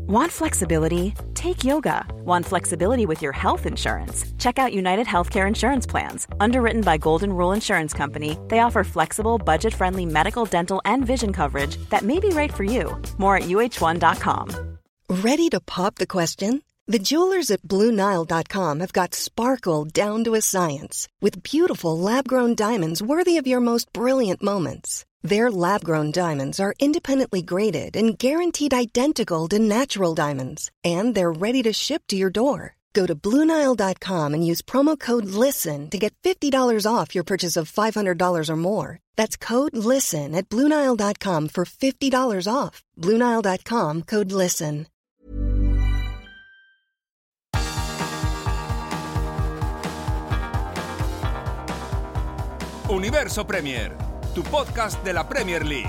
Want flexibility? Take yoga. Want flexibility with your health insurance? Check out United Healthcare Insurance Plans. Underwritten by Golden Rule Insurance Company, they offer flexible, budget-friendly medical, dental, and vision coverage that may be right for you. More at uh1.com. Ready to pop the question? The jewelers at BlueNile.com have got sparkle down to a science with beautiful lab-grown diamonds worthy of your most brilliant moments. Their lab-grown diamonds are independently graded and guaranteed identical to natural diamonds, and they're ready to ship to your door. Go to BlueNile.com and use promo code LISTEN to get $50 off your purchase of $500 or more. That's code LISTEN at BlueNile.com for $50 off. BlueNile.com, code LISTEN. Universo Premier, tu podcast de la Premier League.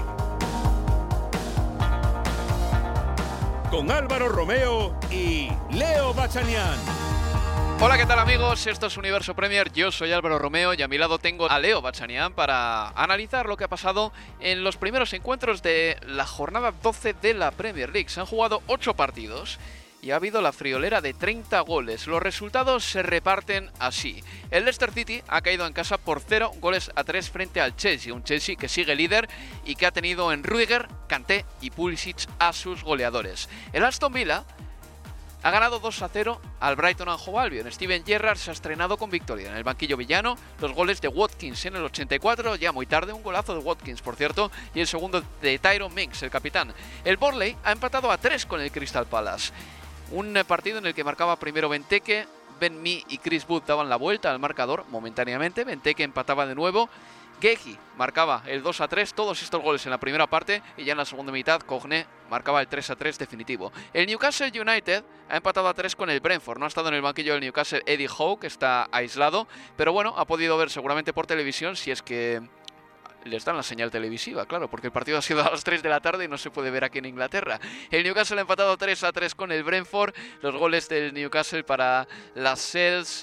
Con Álvaro Romeo y Leo Bachanian. Hola, ¿qué tal amigos? Esto es Universo Premier, yo soy Álvaro Romeo y a mi lado tengo a Leo Bachanian para analizar lo que ha pasado en los primeros encuentros de la jornada 12 de la Premier League. Se han jugado 8 partidos y ha habido la friolera de 30 goles. Los resultados se reparten así. El Leicester City ha caído en casa por 0-3 frente al Chelsea, un Chelsea que sigue líder y que ha tenido en Rudiger, Kanté y Pulisic a sus goleadores. El Aston Villa ha ganado 2-0 al Brighton and Hove Albion. Steven Gerrard se ha estrenado con victoria. En el banquillo villano, los goles de Watkins en el 84, ya muy tarde, un golazo de Watkins, por cierto, y el segundo de Tyrone Mings, el capitán. El Burnley ha empatado a 3 con el Crystal Palace. Un partido en el que marcaba primero Benteke, Ben Mee y Chris Wood daban la vuelta al marcador momentáneamente. Benteke empataba de nuevo. Guehi marcaba el 2-3, todos estos goles en la primera parte, y ya en la segunda mitad Cogné marcaba el 3-3 definitivo. El Newcastle United ha empatado a 3 con el Brentford. No ha estado en el banquillo del Newcastle Eddie Howe, que está aislado, pero bueno, ha podido ver seguramente por televisión, si es que les dan la señal televisiva, claro, porque el partido ha sido a las 3 de la tarde y no se puede ver aquí en Inglaterra. El Newcastle ha empatado 3-3 con el Brentford. Los goles del Newcastle para las Sels,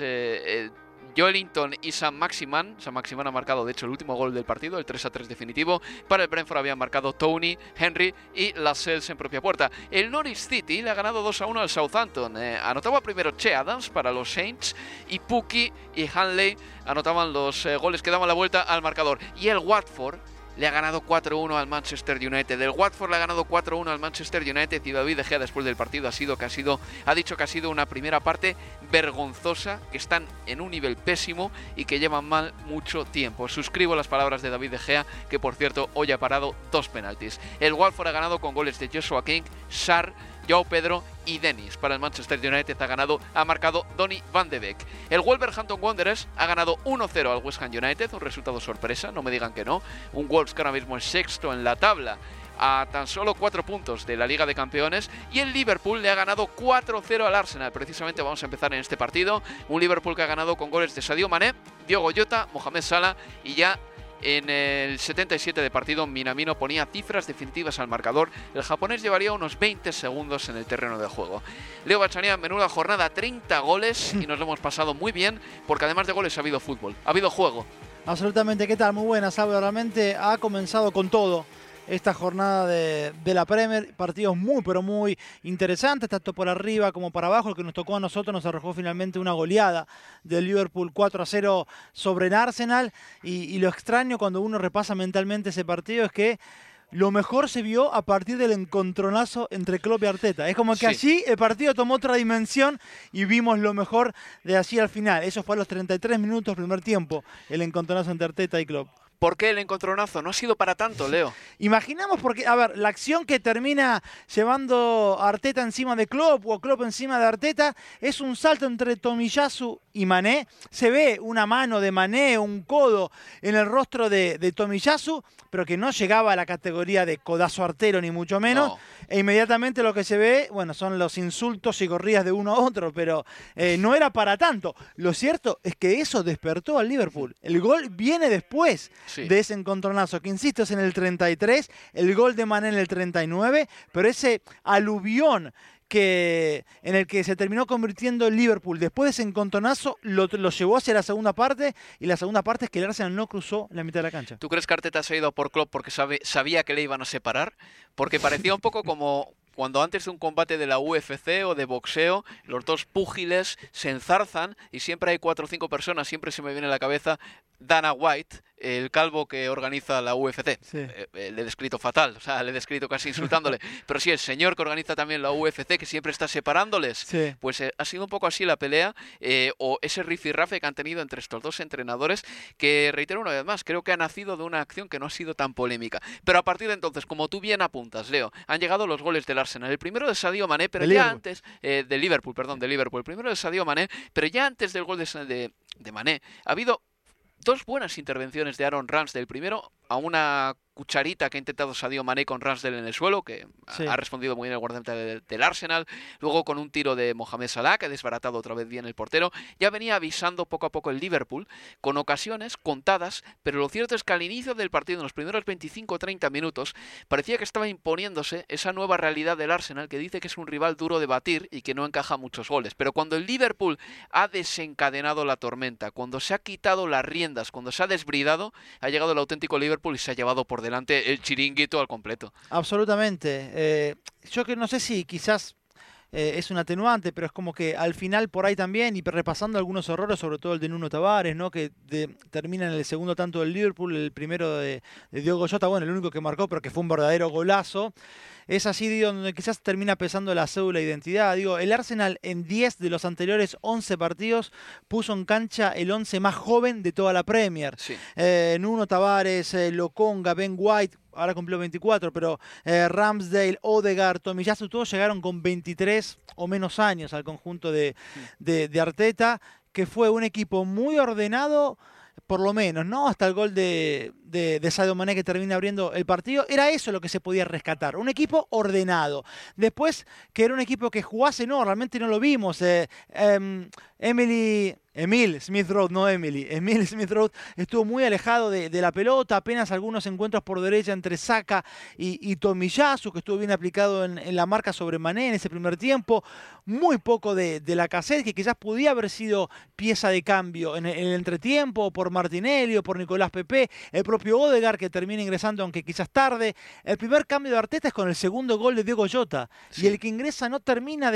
Joelinton y Sam Maximan. Sam Maximan ha marcado, de hecho, el último gol del partido, el 3-3 definitivo. Para el Brentford habían marcado Tony, Henry y Lascelles en propia puerta. El Norwich City le ha ganado 2-1 al Southampton. Anotaba primero Che Adams para los Saints y Pukki y Hanley anotaban los goles que daban la vuelta al marcador. Y el Watford le ha ganado 4-1 al Manchester United. El Watford le ha ganado 4-1 al Manchester United y David De Gea después del partido ha dicho que ha sido una primera parte vergonzosa, que están en un nivel pésimo y que llevan mal mucho tiempo. Suscribo las palabras de David De Gea, que por cierto hoy ha parado 2 penaltis. El Watford ha ganado con goles de Joshua King, Sarr, Joao Pedro y Dennis. Para el Manchester United ha marcado Donny van de Beek. El Wolverhampton Wanderers ha ganado 1-0 al West Ham United, un resultado sorpresa, no me digan que no. Un Wolves que ahora mismo es sexto en la tabla, a tan solo 4 puntos de la Liga de Campeones. Y el Liverpool le ha ganado 4-0 al Arsenal. Precisamente vamos a empezar en este partido. Un Liverpool que ha ganado con goles de Sadio Mané, Diogo Jota, Mohamed Salah, y ya en el 77 de partido Minamino ponía cifras definitivas al marcador. El japonés llevaría unos 20 segundos en el terreno de juego. Leo Bachanian, menuda jornada, 30 goles y nos lo hemos pasado muy bien, porque además de goles ha habido fútbol, ha habido juego. Absolutamente, ¿qué tal? Muy buenas, Álvaro. Realmente ha comenzado con todo esta jornada de la Premier. Partidos muy, pero muy interesantes, tanto por arriba como para abajo. El que nos tocó a nosotros nos arrojó finalmente una goleada del Liverpool 4-0 sobre el Arsenal. Y lo extraño cuando uno repasa mentalmente ese partido es que lo mejor se vio a partir del encontronazo entre Klopp y Arteta. Es como que allí el partido tomó otra dimensión y vimos lo mejor de allí al final. Eso fue a los 33 minutos primer tiempo, el encontronazo entre Arteta y Klopp. ¿Por qué el encontronazo? No ha sido para tanto, Leo. Imaginamos porque, a ver, la acción que termina llevando a Arteta encima de Klopp o Klopp encima de Arteta es un salto entre Tomiyasu y Mané. Se ve una mano de Mané, un codo en el rostro de Tomiyasu, pero que no llegaba a la categoría de codazo artero ni mucho menos. No. E inmediatamente lo que se ve, bueno, son los insultos y corridas de uno a otro, pero no era para tanto. Lo cierto es que eso despertó al Liverpool. El gol viene después de ese encontronazo, que insisto es en el 33, el gol de Mané en el 39, pero ese aluvión en el que se terminó convirtiendo el Liverpool después de ese encontronazo lo llevó hacia la segunda parte, y la segunda parte es que el Arsenal no cruzó la mitad de la cancha. ¿Tú crees que Arteta se ha ido por Klopp porque sabía que le iban a separar? Porque parecía un poco como cuando antes de un combate de la UFC o de boxeo, los dos púgiles se enzarzan y siempre hay 4 o 5 personas, siempre se me viene a la cabeza Dana White, el calvo que organiza la UFC. Sí. Le he descrito fatal, o sea, le he descrito casi insultándole. Pero sí, el señor que organiza también la UFC, que siempre está separándoles. Sí. Pues ha sido un poco así la pelea, o ese rifirrafe que han tenido entre estos dos entrenadores, que, reitero una vez más, creo que ha nacido de una acción que no ha sido tan polémica. Pero a partir de entonces, como tú bien apuntas, Leo, han llegado los goles del Arsenal. El primero de Sadio Mané, pero ya antes... de Liverpool. El primero de Sadio Mané, pero ya antes del gol de Mané, ha habido 2 buenas intervenciones de Aaron Ramsdale. Primero, a una cucharita que ha intentado Sadio Mané con Ramsdale en el suelo, que sí, ha respondido muy bien el guardameta del Arsenal. Luego con un tiro de Mohamed Salah, que ha desbaratado otra vez bien el portero. Ya venía avisando poco a poco el Liverpool, con ocasiones contadas, pero lo cierto es que al inicio del partido, en los primeros 25 o 30 minutos, parecía que estaba imponiéndose esa nueva realidad del Arsenal, que dice que es un rival duro de batir y que no encaja muchos goles. Pero cuando el Liverpool ha desencadenado la tormenta, cuando se ha quitado las riendas, cuando se ha desbridado, ha llegado el auténtico Liverpool y se ha llevado por delante el chiringuito al completo. Absolutamente. Yo que no sé si quizás es un atenuante, pero es como que al final por ahí también, y repasando algunos errores, sobre todo el de Nuno Tavares, ¿no? Que termina en el segundo tanto del Liverpool, el primero de Diogo Jota, bueno, el único que marcó, pero que fue un verdadero golazo. Es así, digo, donde quizás termina pesando la cédula de identidad. Digo, el Arsenal en 10 de los anteriores 11 partidos puso en cancha el 11 más joven de toda la Premier. Sí. Nuno Tavares, Lokonga, Ben White, ahora cumplió 24, pero Ramsdale, Odegaard, Tomiyasu, todos llegaron con 23 o menos años al conjunto de Arteta, que fue un equipo muy ordenado, por lo menos, ¿no? Hasta el gol de Sadio Mané, que termina abriendo el partido. Era eso lo que se podía rescatar, un equipo ordenado. Después, que era un equipo que jugase, no, realmente no lo vimos. Emil Smith Rowe, no Emily. Emil Smith Rowe estuvo muy alejado de la pelota, apenas algunos encuentros por derecha entre Saka y Tomiyasu, que estuvo bien aplicado en la marca sobre Mané en ese primer tiempo. Muy poco de Lacazette, que quizás podía haber sido pieza de cambio en el entretiempo, por Martinelli o por Nicolás Pepe. El propio Odegaard, que termina ingresando, aunque quizás tarde. El primer cambio de Arteta es con el segundo gol de Diogo Jota. Sí. Y el que ingresa no termina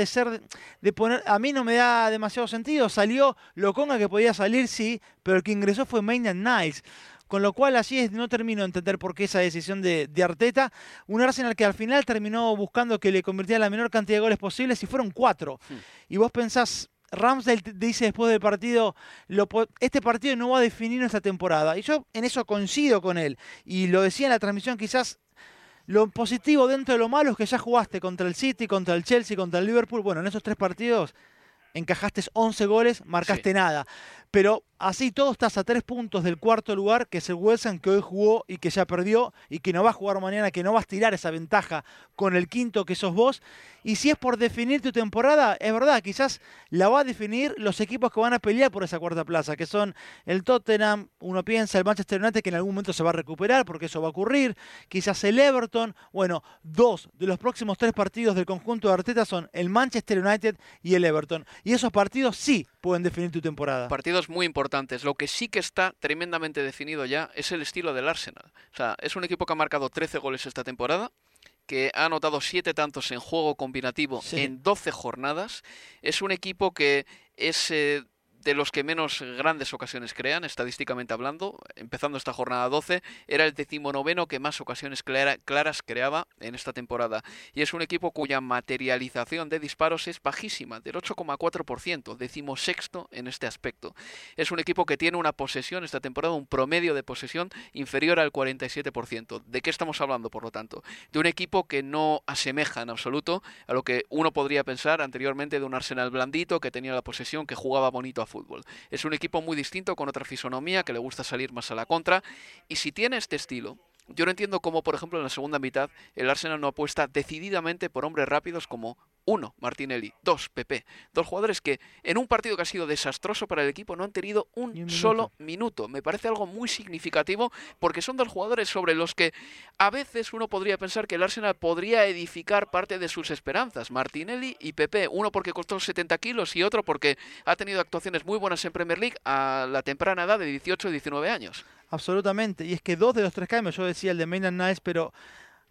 de poner... A mí no me da demasiado sentido. Salió Lokonga, que podía salir, sí, pero el que ingresó fue Maitland-Niles. Con lo cual, así es, no termino de entender por qué esa decisión de Arteta. Un Arsenal que al final terminó buscando que le convirtiera la menor cantidad de goles posibles, y fueron 4. Sí. Y vos pensás, Ramsdale dice después del partido, este partido no va a definir nuestra temporada. Y yo en eso coincido con él. Y lo decía en la transmisión, quizás lo positivo dentro de lo malo es que ya jugaste contra el City, contra el Chelsea, contra el Liverpool. Bueno, en esos 3 partidos encajaste 11 goles, marcaste nada. Pero así todo estás a 3 puntos del cuarto lugar, que es el West Ham, que hoy jugó y que ya perdió, y que no va a jugar mañana, que no va a estirar esa ventaja con el quinto que sos vos. Y si es por definir tu temporada, es verdad, quizás la va a definir los equipos que van a pelear por esa cuarta plaza, que son el Tottenham, uno piensa, el Manchester United, que en algún momento se va a recuperar, porque eso va a ocurrir, quizás el Everton. Bueno, 2 de los próximos 3 partidos del conjunto de Arteta son el Manchester United y el Everton. Y esos partidos sí pueden definir tu temporada. Partidos muy importantes. Lo que sí que está tremendamente definido ya es el estilo del Arsenal. O sea, es un equipo que ha marcado 13 goles esta temporada, que ha anotado 7 tantos en juego combinativo en 12 jornadas. Es un equipo que es de los que menos grandes ocasiones crean, estadísticamente hablando. Empezando esta jornada 12, era el 19º que más ocasiones claras creaba en esta temporada. Y es un equipo cuya materialización de disparos es bajísima, del 8,4%, 16º en este aspecto. Es un equipo que tiene una posesión esta temporada, un promedio de posesión inferior al 47%. ¿De qué estamos hablando, por lo tanto? De un equipo que no asemeja en absoluto a lo que uno podría pensar anteriormente de un Arsenal blandito, que tenía la posesión, que jugaba bonito a fútbol. Es un equipo muy distinto, con otra fisonomía, que le gusta salir más a la contra, y si tiene este estilo, yo no entiendo cómo, por ejemplo, en la segunda mitad el Arsenal no apuesta decididamente por hombres rápidos como 1, Martinelli, 2, Pepe. 2 jugadores que en un partido que ha sido desastroso para el equipo no han tenido un solo minuto. Me parece algo muy significativo, porque son 2 jugadores sobre los que a veces uno podría pensar que el Arsenal podría edificar parte de sus esperanzas. Martinelli y Pepe, uno porque costó 70 kilos y otro porque ha tenido actuaciones muy buenas en Premier League a la temprana edad de 18 y 19 años. Absolutamente, y es que 2 de los 3 cambios, yo decía el de Maitland-Niles, pero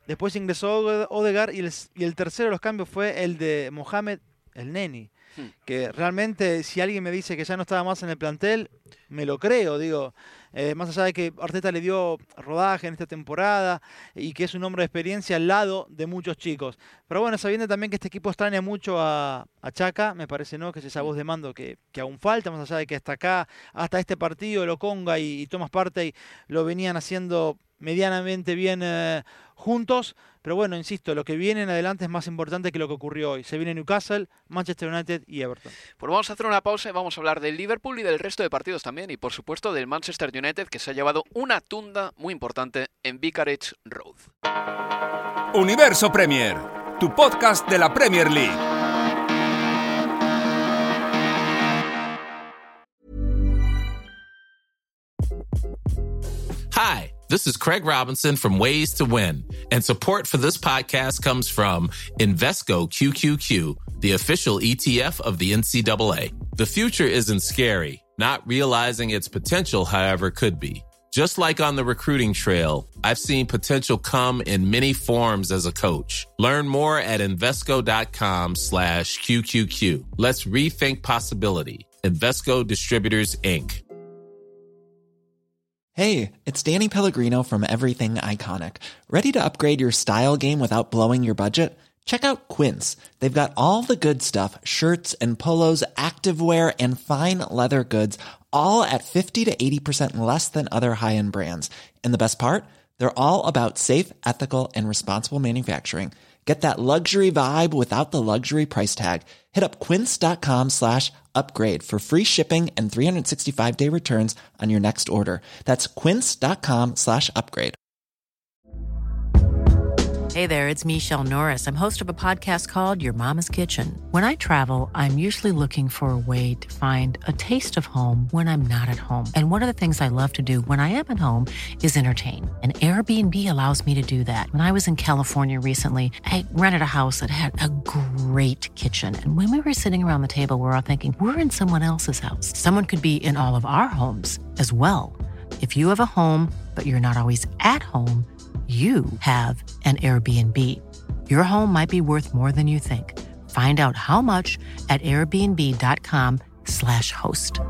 después ingresó Odegaard y el tercero de los cambios fue el de Mohamed El Neni, que realmente si alguien me dice que ya no estaba más en el plantel, me lo creo, digo. Más allá de que Arteta le dio rodaje en esta temporada y que es un hombre de experiencia al lado de muchos chicos. Pero bueno, sabiendo también que este equipo extraña mucho a Xhaka, me parece, ¿no?, que es esa voz de mando que aún falta, más allá de que hasta acá, hasta este partido, Lokonga y Thomas Partey lo venían haciendo medianamente bien juntos. Pero bueno, insisto, lo que viene en adelante es más importante que lo que ocurrió hoy. Se viene Newcastle, Manchester United y Everton. Pues vamos a hacer una pausa y vamos a hablar del Liverpool y del resto de partidos también. Y por supuesto del Manchester United, que se ha llevado una tunda muy importante en Vicarage Road. Universo Premier, tu podcast de la Premier League. Hi, this is Craig Robinson from Ways to Win, and support for this podcast comes from Invesco QQQ, the official ETF of the NCAA. The future isn't scary. Not realizing its potential, however, could be. Just like on the recruiting trail, I've seen potential come in many forms as a coach. Learn more at Invesco.com/QQQ. Let's rethink possibility. Invesco Distributors, Inc. Hey, it's Danny Pellegrino from Everything Iconic. Ready to upgrade your style game without blowing your budget? Check out Quince. They've got all the good stuff, shirts and polos, activewear, and fine leather goods, all at 50 to 80% less than other high-end brands. And the best part? They're all about safe, ethical, and responsible manufacturing. Get that luxury vibe without the luxury price tag. Hit up quince.com/upgrade for free shipping and 365-day returns on your next order. That's quince.com/upgrade. Hey there, it's Michelle Norris. I'm host of a podcast called Your Mama's Kitchen. When I travel, I'm usually looking for a way to find a taste of home when I'm not at home. And one of the things I love to do when I am at home is entertain. And Airbnb allows me to do that. When I was in California recently, I rented a house that had a great kitchen. And when we were sitting around the table, we were all thinking, we're in someone else's house. Someone could be in all of our homes as well. If you have a home, but you're not always at home, you have an Airbnb. Your home might be worth more than you think. Find out how much at airbnb.com/host.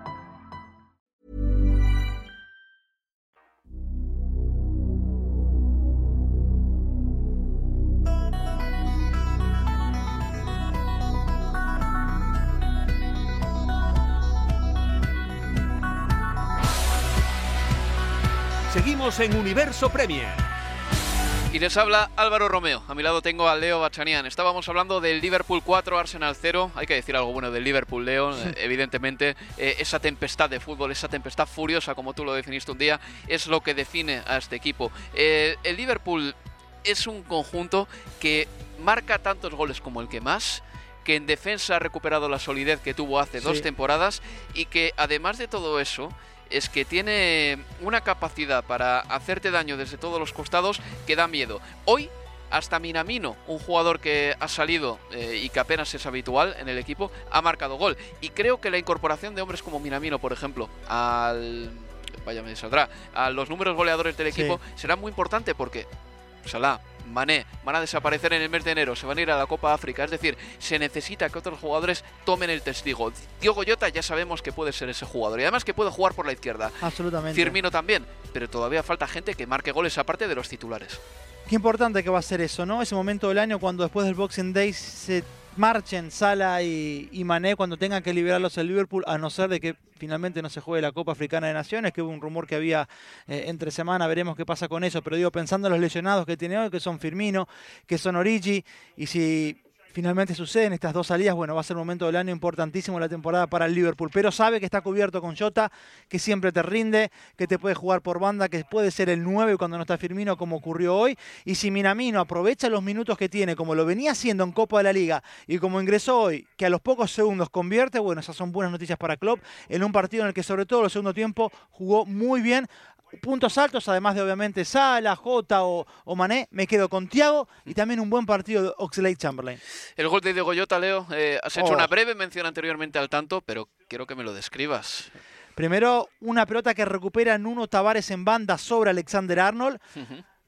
Seguimos en Universo Premier. Y les habla Álvaro Romeo. A mi lado tengo a Leo Bachanian. Estábamos hablando del Liverpool 4, Arsenal 0. Hay que decir algo bueno del Liverpool, Leo. Evidentemente, esa tempestad de fútbol, esa tempestad furiosa, como tú lo definiste un día, es lo que define a este equipo. El Liverpool es un conjunto que marca tantos goles como el que más, que en defensa ha recuperado la solidez que tuvo hace 2 temporadas y que, además de todo eso, es que tiene una capacidad para hacerte daño desde todos los costados que da miedo. Hoy, hasta Minamino, un jugador que ha salido y que apenas es habitual en el equipo, ha marcado gol. Y creo que la incorporación de hombres como Minamino, por ejemplo, a los números goleadores del equipo será muy importante porque Salah, Mané van a desaparecer en el mes de enero, se van a ir a la Copa África, es decir, se necesita que otros jugadores tomen el testigo. Diogo Jota ya sabemos que puede ser ese jugador y además que puede jugar por la izquierda. Absolutamente. Firmino también, pero todavía falta gente que marque goles aparte de los titulares. Qué importante que va a ser eso, ¿no? Ese momento del año cuando después del Boxing Day se marchen Salah y Mané cuando tengan que liberarlos el Liverpool, a no ser de que finalmente no se juegue la Copa Africana de Naciones, que hubo un rumor que había entre semana, veremos qué pasa con eso, pero digo, pensando en los lesionados que tiene hoy, que son Firmino, que son Origi, y si finalmente suceden estas 2 salidas, bueno, va a ser un momento del año importantísimo la temporada para el Liverpool, pero sabe que está cubierto con Jota, que siempre te rinde, que te puede jugar por banda, que puede ser el 9 cuando no está Firmino, como ocurrió hoy, y si Minamino aprovecha los minutos que tiene, como lo venía haciendo en Copa de la Liga, y como ingresó hoy, que a los pocos segundos convierte, bueno, esas son buenas noticias para Klopp, en un partido en el que sobre todo el segundo tiempo jugó muy bien. Puntos altos, además de obviamente Salah, Jota o Mané, me quedo con Thiago y también un buen partido de Oxlade-Chamberlain. El gol de Diogo Jota, Leo, has hecho una breve mención anteriormente al tanto, pero quiero que me lo describas. Primero, una pelota que recupera Nuno Tavares en banda sobre Alexander-Arnold.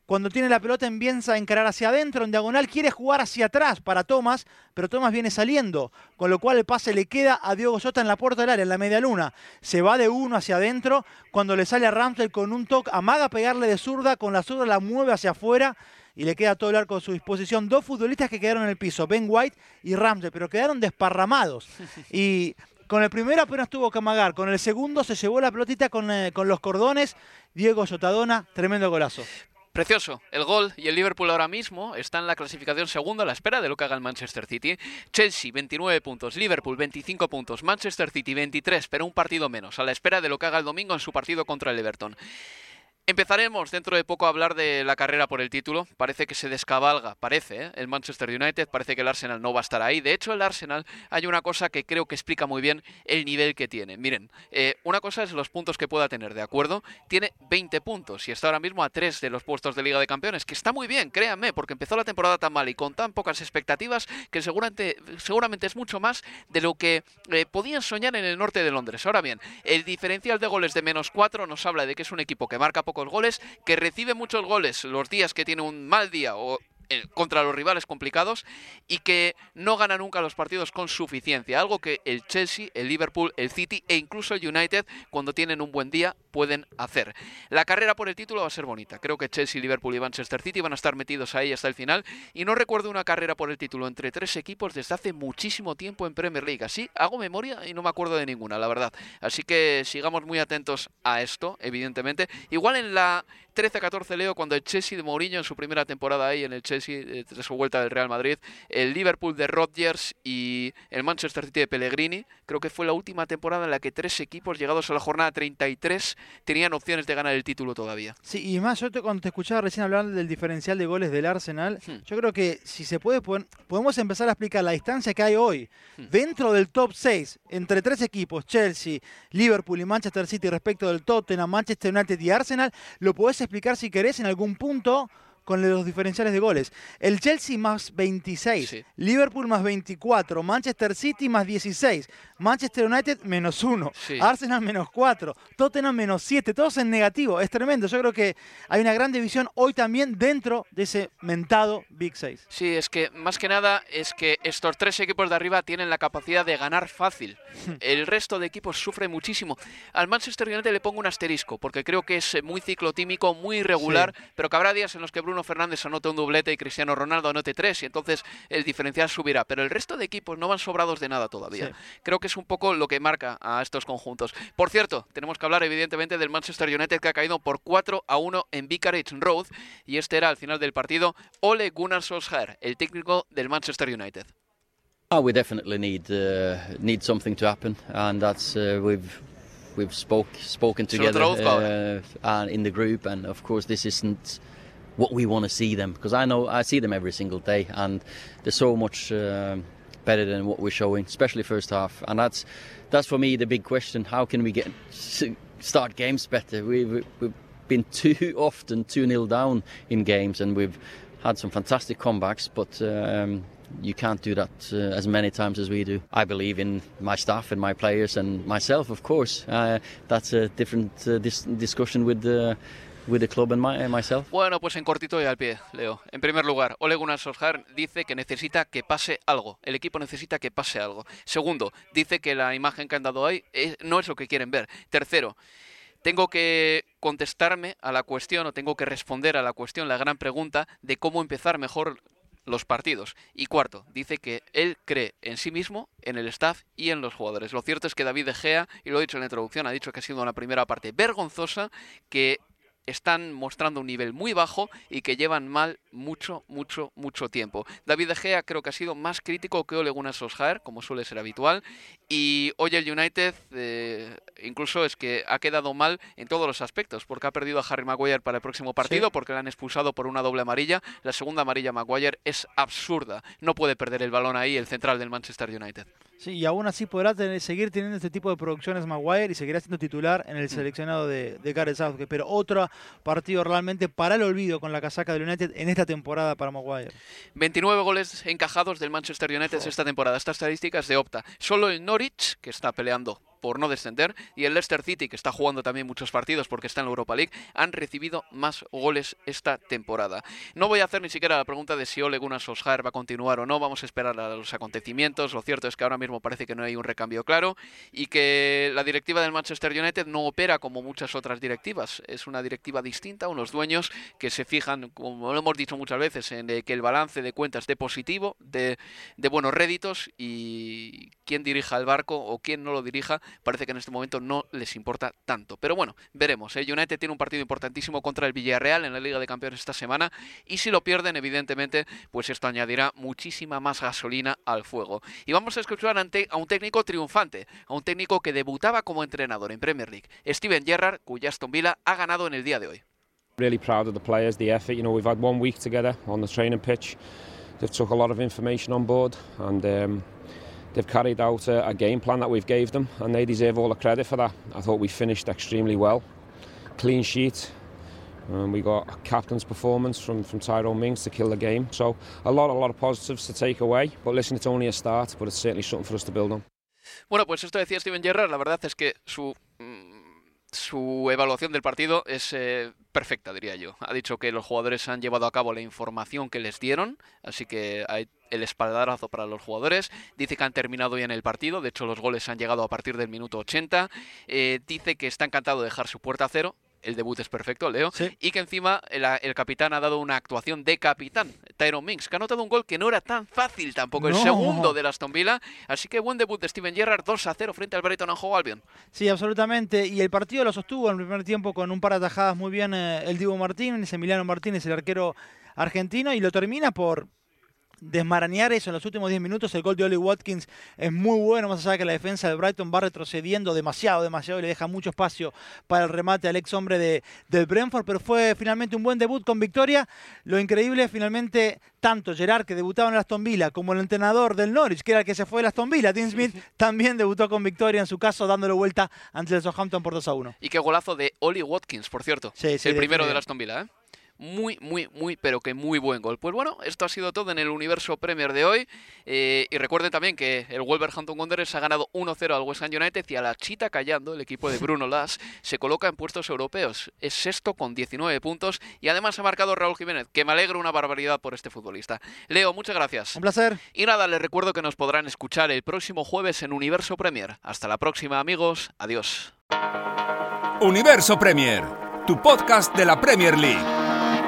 cuando tiene la pelota empieza a encarar hacia adentro, en diagonal quiere jugar hacia atrás para Thomas, pero Thomas viene saliendo, con lo cual el pase le queda a Diogo Jota en la puerta del área, en la media luna. Se va de uno hacia adentro, cuando le sale a Ramsdale con un toque, amaga pegarle de zurda, con la zurda la mueve hacia afuera y le queda todo el arco a su disposición. Dos futbolistas que quedaron en el piso, Ben White y Ramsdale, pero quedaron desparramados. Y con el primero apenas tuvo que amagar, con el segundo se llevó la pelotita con los cordones. Diego Jotadona, tremendo golazo. Precioso el gol, y el Liverpool ahora mismo está en la clasificación segundo a la espera de lo que haga el Manchester City. Chelsea 29 puntos, Liverpool 25 puntos, Manchester City 23, pero un partido menos, a la espera de lo que haga el domingo en su partido contra el Everton. Empezaremos dentro de poco a hablar de la carrera por el título. Parece que se descabalga, el Manchester United, parece que el Arsenal no va a estar ahí. De hecho, el Arsenal, hay una cosa que creo que explica muy bien el nivel que tiene. Miren, una cosa es los puntos que pueda tener, ¿de acuerdo? Tiene 20 puntos y está ahora mismo a 3 de los puestos de Liga de Campeones, que está muy bien, créanme, porque empezó la temporada tan mal y con tan pocas expectativas que seguramente es mucho más de lo que podían soñar en el norte de Londres. Ahora bien, el diferencial de goles de -4 nos habla de que es un equipo que marca pocos goles, que recibe muchos goles los días que tiene un mal día o contra los rivales complicados, y que no gana nunca los partidos con suficiencia, algo que el Chelsea, el Liverpool, el City e incluso el United, cuando tienen un buen día, pueden hacer. La carrera por el título va a ser bonita. Creo que Chelsea, Liverpool y Manchester City van a estar metidos ahí hasta el final, y no recuerdo una carrera por el título entre 3 equipos desde hace muchísimo tiempo en Premier League. Así hago memoria y no me acuerdo de ninguna, la verdad. Así que sigamos muy atentos a esto, evidentemente. Igual en la 13-14, Leo, cuando el Chelsea de Mourinho en su primera temporada ahí en el Chelsea, tras su vuelta del Real Madrid, el Liverpool de Rodgers y el Manchester City de Pellegrini, creo que fue la última temporada en la que 3 equipos llegados a la jornada 33 tenían opciones de ganar el título todavía. Sí, y más, cuando te escuchaba recién hablar del diferencial de goles del Arsenal, yo creo que si se puede, podemos empezar a explicar la distancia que hay hoy dentro del top 6, entre 3 equipos, Chelsea, Liverpool y Manchester City, respecto del Tottenham, Manchester United y Arsenal. Lo podés explicar si querés en algún punto con los diferenciales de goles. El Chelsea más 26, sí. Liverpool más 24, Manchester City más 16, Manchester United menos 1, sí. Arsenal menos 4, Tottenham menos 7, todos en negativo. Es tremendo. Yo creo que hay una gran división hoy también dentro de ese mentado Big 6. Sí, es que más que nada es que estos 3 equipos de arriba tienen la capacidad de ganar fácil. El resto de equipos sufre muchísimo. Al Manchester United le pongo un asterisco porque creo que es muy ciclotímico, muy irregular, sí. Pero que habrá días en los que Bruno Fernández anote un doblete y Cristiano Ronaldo anote 3 y entonces el diferencial subirá, pero el resto de equipos no van sobrados de nada todavía. Sí. Creo que es un poco lo que marca a estos conjuntos. Por cierto, tenemos que hablar evidentemente del Manchester United, que ha caído por 4-1 en Vicarage Road, y este era al final del partido Ole Gunnar Solskjaer, el técnico del Manchester United. We definitely need something to happen, and that's we've spoken together and in the group, and of course this isn't what we want to see them, because I see them every single day, and they're so much better than what we're showing, especially first half, and that's for me the big question. How can we start games better? We've been too often 2-0 down in games, and we've had some fantastic comebacks, but you can't do that as many times as we do. I believe in my staff and my players and myself, of course. That's a different discussion with the club and myself. Bueno, pues en cortito y al pie, Leo. En primer lugar, Ole Gunnar Solskjaer dice que necesita que pase algo. El equipo necesita que pase algo. Segundo, dice que la imagen que han dado ahí no es lo que quieren ver. Tercero, tengo que contestarme a la cuestión, o tengo que responder a la cuestión, la gran pregunta de cómo empezar mejor los partidos. Y cuarto, dice que él cree en sí mismo, en el staff y en los jugadores. Lo cierto es que David De Gea, y lo he dicho en la introducción, ha dicho que ha sido una primera parte vergonzosa, que están mostrando un nivel muy bajo y que llevan mal mucho tiempo. David De Gea creo que ha sido más crítico que Ole Gunnar Solskjaer, como suele ser habitual, y hoy el United incluso es que ha quedado mal en todos los aspectos, porque ha perdido a Harry Maguire para el próximo partido, sí. Porque le han expulsado por una doble amarilla. La segunda amarilla a Maguire es absurda. No puede perder el balón ahí el central del Manchester United. Sí, y aún así podrá seguir teniendo este tipo de producciones Maguire y seguirá siendo titular en el seleccionado de Gareth Southgate. Pero otro partido realmente para el olvido con la casaca del United en esta temporada para Maguire. 29 goles encajados del Manchester United esta temporada. Esta estadística es de Opta. Solo el Norwich, que está peleando por no descender, y el Leicester City, que está jugando también muchos partidos porque está en la Europa League, han recibido más goles esta temporada. No voy a hacer ni siquiera la pregunta de si Ole Gunnar Solskjaer va a continuar o no, vamos a esperar a los acontecimientos. Lo cierto es que ahora mismo parece que no hay un recambio claro y que la directiva del Manchester United no opera como muchas otras directivas. Es una directiva distinta, unos dueños que se fijan, como lo hemos dicho muchas veces, en que el balance de cuentas esté positivo, de buenos réditos, y quién dirija el barco o quién no lo dirija parece que en este momento no les importa tanto. Pero bueno, veremos. United tiene un partido importantísimo contra el Villarreal en la Liga de Campeones esta semana, y si lo pierden, evidentemente, pues esto añadirá muchísima más gasolina al fuego. Y vamos a escuchar a un técnico triunfante, a un técnico que debutaba como entrenador en Premier League, Steven Gerrard, cuya Aston Villa ha ganado en el día de hoy. Really proud of the players, the effort. You know, we've had 1 week together on the training pitch. They've took a lot of information on board, and they've carried out a game plan that we've gave them, and they deserve all the credit for that. I thought we finished extremely well. Clean sheet. We got a captain's performance from Tyrone Mings to kill the game. So a lot of positives to take away. But listen, it's only a start, but it's certainly something for us to build on. Bueno, pues esto decía Steven Gerrard. La verdad es que su evaluación del partido es perfecta, diría yo. Ha dicho que los jugadores han llevado a cabo la información que les dieron, así que hay el espaldarazo para los jugadores. Dice que han terminado bien el partido, de hecho los goles han llegado a partir del minuto 80. Dice que está encantado de dejar su puerta a cero. El debut es perfecto, Leo. Sí. Y que encima el capitán ha dado una actuación de capitán, Tyrone Mings, que ha anotado un gol que no era tan fácil tampoco, el segundo del Aston Villa. Así que buen debut de Steven Gerrard, 2-0 frente al Brighton and Hove Albion. Sí, absolutamente. Y el partido lo sostuvo en el primer tiempo con un par de atajadas muy bien el Dibu Martínez, Emiliano Martínez, el arquero argentino, y lo termina por desmarañar eso en los últimos 10 minutos. El gol de Ollie Watkins es muy bueno, más allá de que la defensa del Brighton va retrocediendo demasiado y le deja mucho espacio para el remate al ex hombre del Brentford, pero fue finalmente un buen debut con victoria. Lo increíble, finalmente, tanto Gerrard, que debutaba en el Aston Villa, como el entrenador del Norwich, que era el que se fue del Aston Villa, Dean Smith, también debutó con victoria, en su caso dándole vuelta ante el Southampton por 2-1. Y qué golazo de Ollie Watkins, por cierto. Sí, el primero del Aston Villa, ¿eh? Muy, pero que muy buen gol. Pues bueno, esto ha sido todo en el Universo Premier de hoy. Y recuerden también que el Wolverhampton Wanderers ha ganado 1-0 al West Ham United, y a la chita callando, el equipo de Bruno Lage se coloca en puestos europeos. Es sexto con 19 puntos, y además ha marcado Raúl Jiménez, que me alegro una barbaridad por este futbolista. Leo, muchas gracias. Un placer. Y nada, les recuerdo que nos podrán escuchar el próximo jueves en Universo Premier. Hasta la próxima, amigos. Adiós. Universo Premier, tu podcast de la Premier League.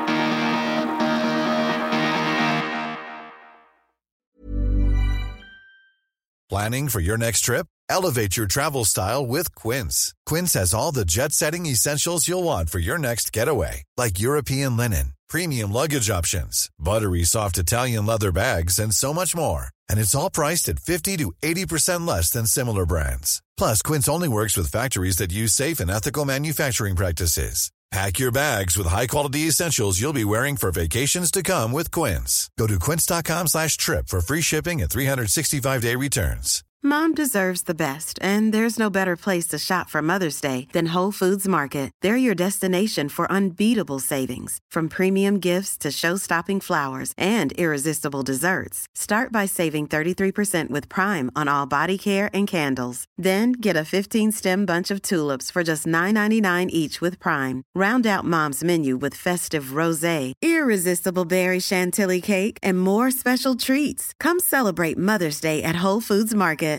Planning for your next trip? Elevate your travel style with Quince. Quince has all the jet-setting essentials you'll want for your next getaway, like European linen, premium luggage options, buttery soft Italian leather bags, and so much more. And it's all priced at 50 to 80% less than similar brands. Plus, Quince only works with factories that use safe and ethical manufacturing practices. Pack your bags with high-quality essentials you'll be wearing for vacations to come with Quince. Go to quince.com/trip for free shipping and 365-day returns. Mom deserves the best, and there's no better place to shop for Mother's Day than Whole Foods Market. They're your destination for unbeatable savings, from premium gifts to show-stopping flowers and irresistible desserts. Start by saving 33% with Prime on all body care and candles. Then get a 15-stem bunch of tulips for just $9.99 each with Prime. Round out Mom's menu with festive rosé, irresistible berry chantilly cake, and more special treats. Come celebrate Mother's Day at Whole Foods Market.